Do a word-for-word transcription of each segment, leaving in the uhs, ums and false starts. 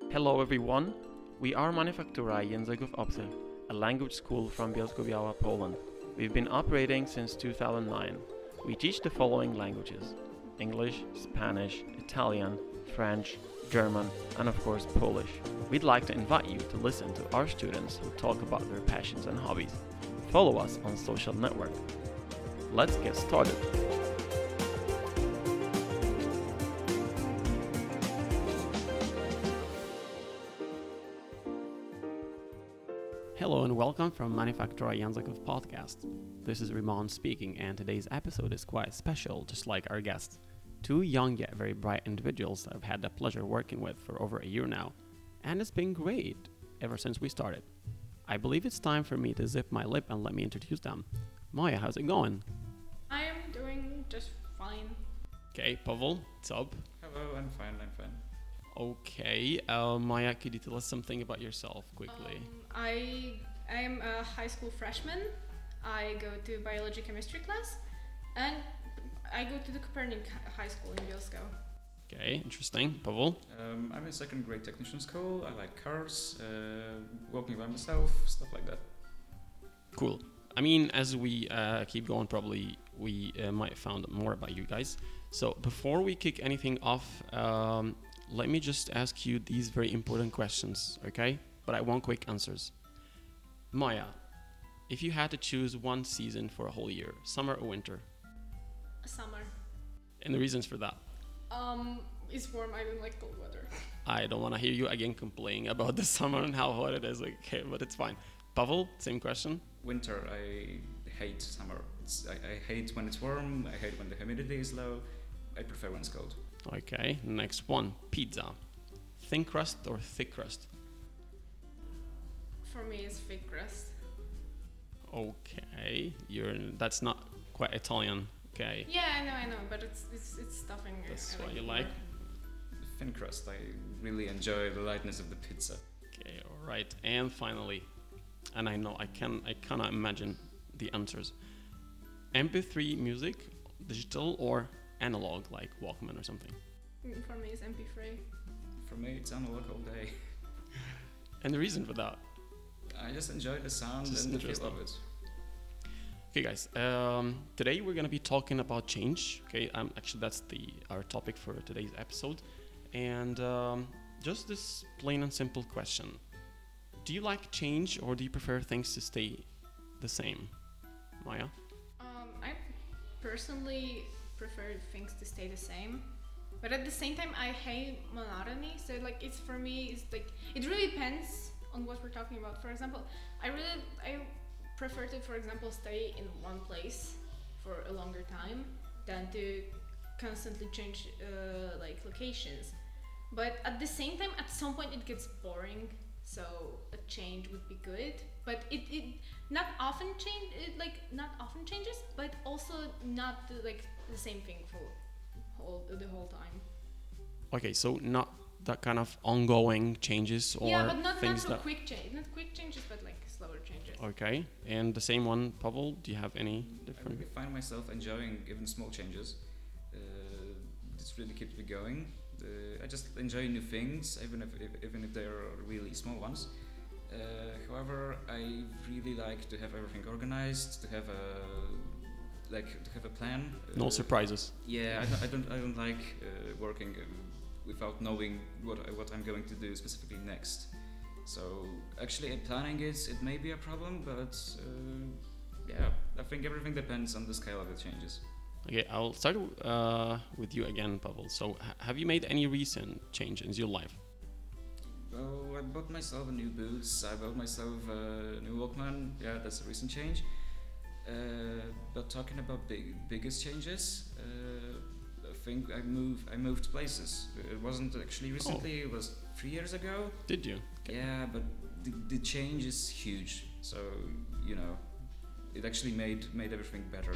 Hello everyone, we are Manufaktura Języków Obcych, a language school from Bielsko-Biała, Poland. We've been operating since two thousand nine. We teach the following languages: English, Spanish, Italian, French, German, and of course Polish. We'd like to invite you to listen to our students who talk about their passions and hobbies. Follow us on social network. Let's get started. Hello and welcome from Manufaktura Języków podcast. This is Rimon speaking, and today's episode is quite special, just like our guests. Two young yet very bright individuals that I've had the pleasure working with for over a year now, and it's been great ever since we started. I believe it's time for me to zip my lip and let me introduce them. Maya, how's it going? I am doing just fine. Okay, Pavel, what's up? Hello, I'm fine, I'm fine. Okay, uh, Maya, could you tell us something about yourself quickly? Um, I I am a high school freshman. I go to biology chemistry class, and I go to the Copernic High School in Bielsko. Okay, interesting. Pavel? Um, I'm in second grade technician school. I like cars, uh, walking by myself, stuff like that. Cool. I mean, as we uh, keep going, probably we uh, might find more about you guys. So before we kick anything off, um, let me just ask you these very important questions, okay? But I want quick answers. Maya, if you had to choose one season for a whole year, summer or winter? Summer. And the reasons for that? Um, it's warm. I don't like cold weather. I don't want to hear you again complaining about the summer and how hot it is, okay, but it's fine. Pavel, same question. Winter, I hate summer. It's, I, I hate when it's warm, I hate when the humidity is low. I prefer when it's cold. Okay, next one, pizza. Thin crust or thick crust? For me, it's thick crust. Okay, you're that's not quite Italian. Okay, Yeah, I know, I know, but it's it's it's stuffing. I- that's I what you it like. more. The thin crust, I really enjoy the lightness of the pizza. Okay, all right, and finally, and I know I can I cannot imagine the answers. M P three music, digital or analog, like Walkman or something. Mm, For me, it's M P three. For me, it's analog all day. And the reason for that? I just enjoy the sound Just and the feel interesting. of it. Okay, guys. Um, today we're gonna be talking about change. Okay, um, actually that's the our topic for today's episode, and um, just this plain and simple question: do you like change or do you prefer things to stay the same? Maya? Um, I personally prefer things to stay the same, but at the same time, I hate monotony. So like, it's for me, it's like it really depends on what we're talking about. For example, I really I prefer to, for example, stay in one place for a longer time than to constantly change uh, like locations. But at the same time, at some point, it gets boring. So a change would be good, but it, it not often change it like not often changes, but also not the, like the same thing for whole the whole time. Okay, so not that kind of ongoing changes or yeah, but not not things so that. quick change, not quick changes, but like slower changes. Okay, and the same one, Pavel. Do you have any I different? really find myself enjoying even small changes. Uh, this really keeps me going. Uh, I just enjoy new things, even if, if even if they are really small ones. Uh, however, I really like to have everything organized, to have a like to have a plan. No Uh, surprises. Yeah, I don't, I don't, I don't like uh, working uh, without knowing what I, what I'm going to do specifically next. So actually, uh, planning it it may be a problem, but uh, yeah, I think everything depends on the scale of the changes. Okay, I'll start uh, with you again, Pavel. So, ha- have you made any recent change in your life? Well, I bought myself a new boots. I bought myself a new Walkman. Yeah, that's a recent change. Uh, but talking about big, biggest changes, uh, I think I moved. I moved places. It wasn't actually recently. It was three years ago. Did you? Yeah, but the, the change is huge. So you know, it actually made made everything better.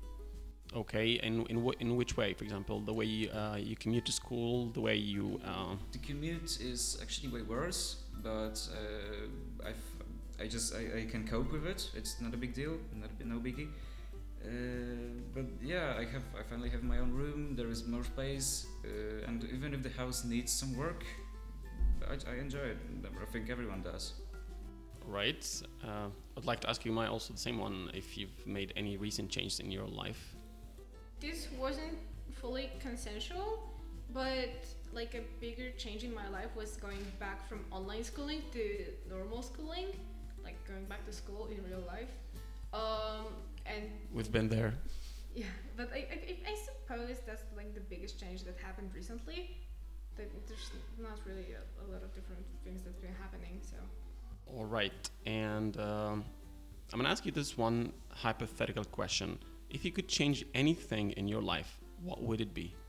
Okay, and in wh- in which way? For example, the way you, uh, you commute to school, the way you. Uh, The commute is actually way worse, but uh, I've, I just I, I can cope with it. It's not a big deal, not a, no biggie. Uh, but yeah, I have I finally have my own room. There is more space, uh, and even if the house needs some work, I, I enjoy it. I think everyone does. Right. Uh, I'd like to ask you, Maya, also the same one, if you've made any recent changes in your life. This wasn't fully consensual, but like a bigger change in my life was going back from online schooling to normal schooling, like going back to school in real life. Um, and We've been there. yeah, but I, I, I suppose that's like the biggest change that happened recently. That there's not really a, a lot of different things that's been happening. So All right. And um, I'm going to ask you this one hypothetical question. If you could change anything in your life, what would it be?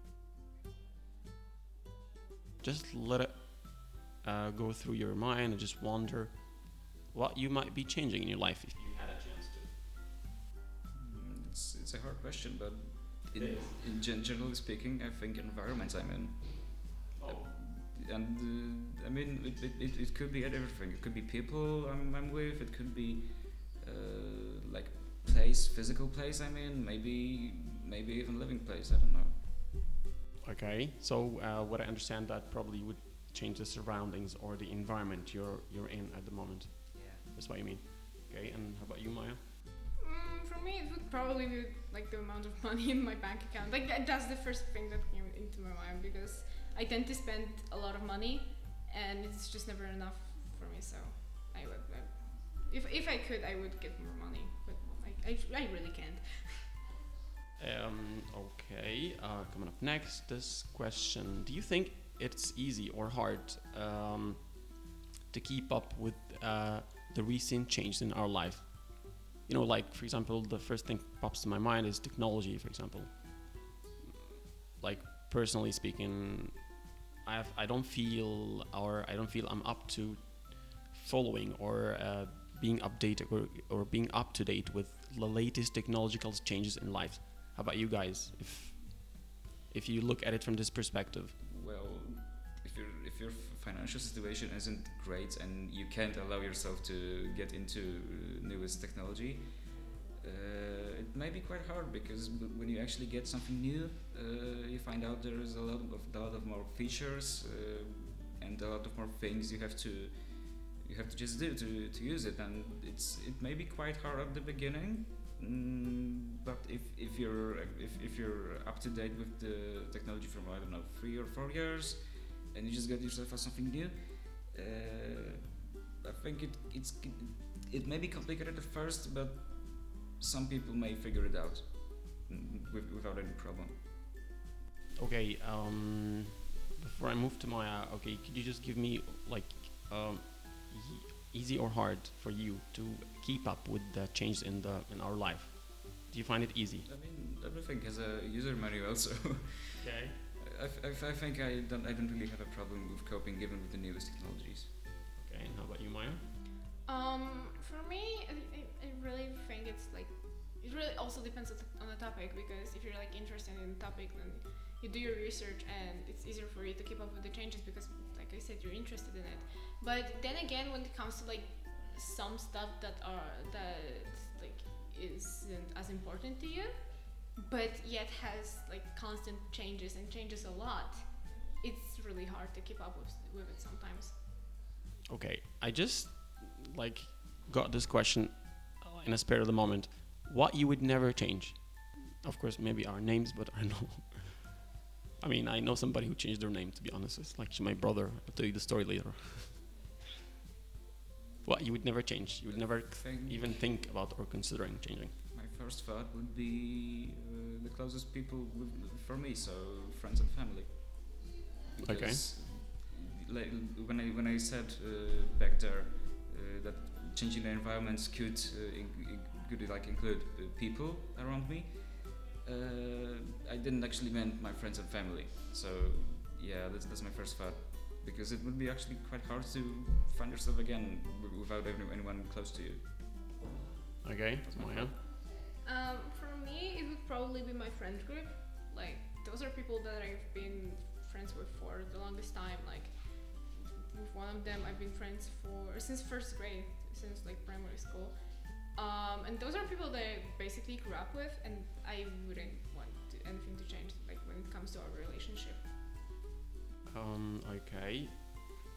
Just let it uh, go through your mind and just wonder what you might be changing in your life if you had a chance to. Mm, It's, it's a hard question, but in, It is. in gen- generally speaking, I think environments I'm in. Oh. And uh, I mean, it, it, it, it could be everything. It could be people I'm, I'm with. It could be uh, like place, physical place I'm in. Maybe maybe even living place. I don't know. Okay, so uh, what I understand that probably would change the surroundings or the environment you're you're in at the moment. Yeah. That's what you mean. Okay, and how about you, Maya? mm, for me, it would probably be like the amount of money in my bank account. Like that, that's the first thing that came into my mind because I tend to spend a lot of money, and it's just never enough for me. So I would, I, if if I could, I would get more money, but like I, I really can't. Um, okay, uh, coming up next, this question. Do you think it's easy or hard um, to keep up with uh, the recent changes in our life? You know, like, for example, the first thing pops to my mind is technology, for example. Like, personally speaking, I have, I don't feel, or I don't feel I'm up to following or uh, being updated or, or being up to date with the latest technological changes in life. How about you guys? If if you look at it from this perspective. Well, if your if your financial situation isn't great and you can't allow yourself to get into newest technology, uh, it may be quite hard because w- when you actually get something new, uh, you find out there is a lot of a lot of more features uh, and a lot of more things you have to you have to just do to, to use it, and it's it may be quite hard at the beginning. Mm, but if, if you're if, if you're up to date with the technology from I don't know three or four years, and you just get yourself something new, uh, I think it it's it may be complicated at first, but some people may figure it out mm, with, without any problem. Okay, um, before I move to Maya, okay, could you just give me like um, e- easy or hard for you to keep up with the change in the in our life? Do you find it easy? I mean, everything has a user manual, so Okay. I, I, I think I don't I don't really have a problem with coping even with the newest technologies. Okay, and how about you, Maya? Um, for me, I, I, I really think it's like it really also depends on the, on the topic because if you're like interested in the topic, then you do your research and it's easier for you to keep up with the changes because, like I said, you're interested in it. But then again, when it comes to like some stuff that are that like isn't as important to you, but yet has like constant changes and changes a lot, it's really hard to keep up with with it sometimes. Okay, I just like got this question uh, in a spare of the moment. What you would never change? Of course, maybe our names, but I know. I mean, I know somebody who changed their name. To be honest, it's like my brother. I'll tell you the story later. What you would never change? You would never Think even think about or considering changing. my first thought would be uh, the closest people with, for me, so friends and family. Okay. Because like, when I when I said uh, back there uh, that changing the environments could uh, in, in, could like include uh, people around me, uh, I didn't actually mean my friends and family. So yeah, that's that's my first thought, because it would be actually quite hard to find yourself again w- without any, anyone close to you. Okay, That's my Maya. Um, for me, it would probably be my friend group. Like, those are people that I've been friends with for the longest time. Like, with one of them, I've been friends for since first grade, since like primary school. Um, and those are people that I basically grew up with, and I wouldn't want to, anything to change. Like when it comes to our relationship. Um, okay.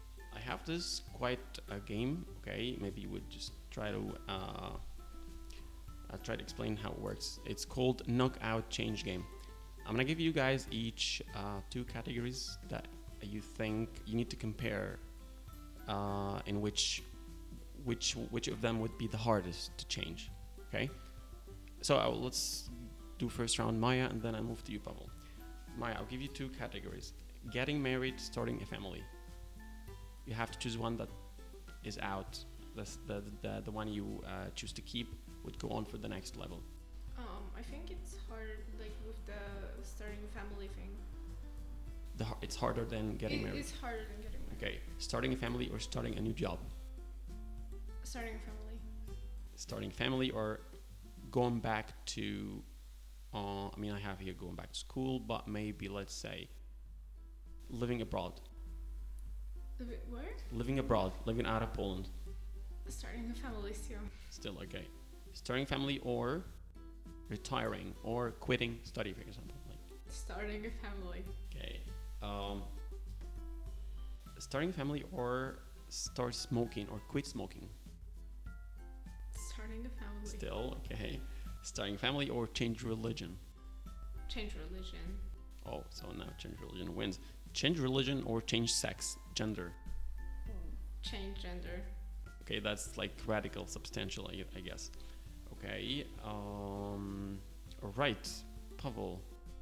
have this quite a game. Okay, maybe you would just try to uh, I'll try to explain how it works. It's called Knockout Change Game. I'm gonna give you guys each uh, two categories that you think you need to compare, uh, in which which which of them would be the hardest to change. Okay, so I will, let's do first round Maya, and then I move to you, Pavel. Maya, I'll give you two categories: getting married, starting a family. You have to choose one that is out. That's the the the one you uh, choose to keep would go on for the next level. Um, I think it's hard, like with the starting a family thing. The, har- it's harder than getting It- married. It's harder than getting married. Okay, starting a family or starting a new job. Starting a family. Starting family or going back to. Uh, I mean, I have here going back to school, but maybe let's say living abroad. Live it- Where? Living abroad, living out of Poland. Starting a family still. Still okay. Starting family or retiring or quitting study, for example. Like, Starting a family. okay. Um, starting family or start smoking or quit smoking. Starting a family. Still okay. Starting family or change religion. Change religion. Oh, so now change religion wins. Change religion or change sex, gender. Change gender. Okay, that's like radical, substantial, I, I guess. Okay. Um. All right, Pavel.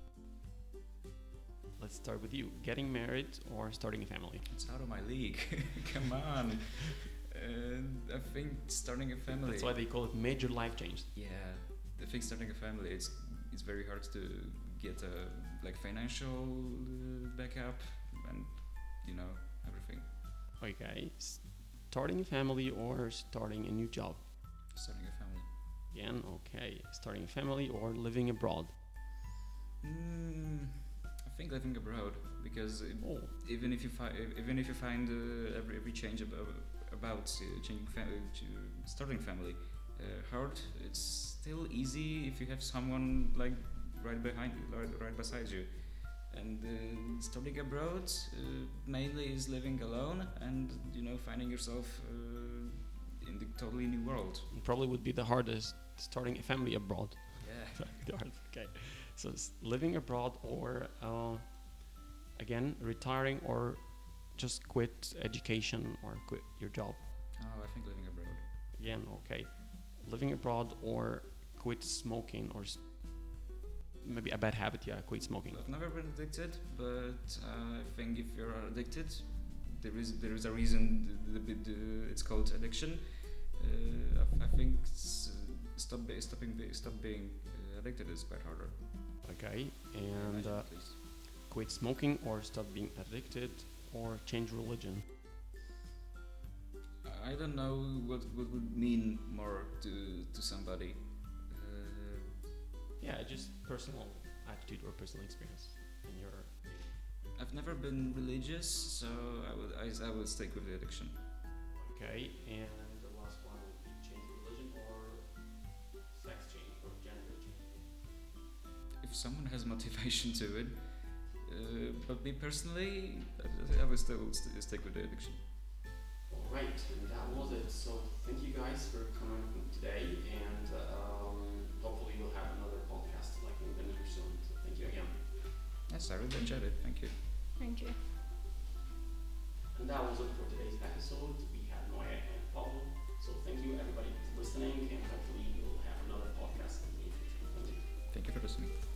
Let's start with you. Getting married or starting a family? It's out of my league. Come on. Uh, I think starting a family. That's why they call it major life change. Yeah, I think starting a family, it's it's very hard to get a like financial uh, backup and you know everything. Okay. Starting a family or starting a new job? Starting a family. Again, okay. Starting a family or living abroad? Mm, I think living abroad because it, Oh, even if you find even if you find uh, every every change about about uh, changing family to starting family uh, hard, it's still easy if you have someone like right behind you, right, right beside you. And uh, studying abroad uh, mainly is living alone and you know finding yourself uh, in the totally new world. it probably would be the hardest starting a family abroad. Yeah. The hard- okay. So s- living abroad or uh, again retiring or just quit education or quit your job. Oh, I think living abroad. Again, okay. Living abroad or quit smoking or s- maybe a bad habit. Yeah, quit smoking. I've never been addicted, but uh, I think if you're addicted, there is there is a reason. The, the, the, it's called addiction. Uh, I, I think it's, uh, stop be, stopping be, stop being uh, addicted is quite harder. Okay, I and imagine uh, at least. quit smoking or stop being addicted or change religion. I don't know what what would mean more to to somebody. Uh, Yeah, just personal attitude or personal experience in your. I've never been religious, so I would I, I would stick with the addiction. Okay, and the last one would be change religion or sex change or gender change. If someone has motivation to it, uh, but me personally, I, I would still st- stick with the addiction. Alright, and that was it. So thank you guys for coming today, and um, hopefully we'll have another podcast like in the near soon. So thank you again. Yes, I really enjoyed it. Thank you. Thank you. And that was it for today's episode. We had Noya and Pavel. So thank you everybody for listening, and hopefully we'll have another podcast in the near future. Thank you. Thank you for listening.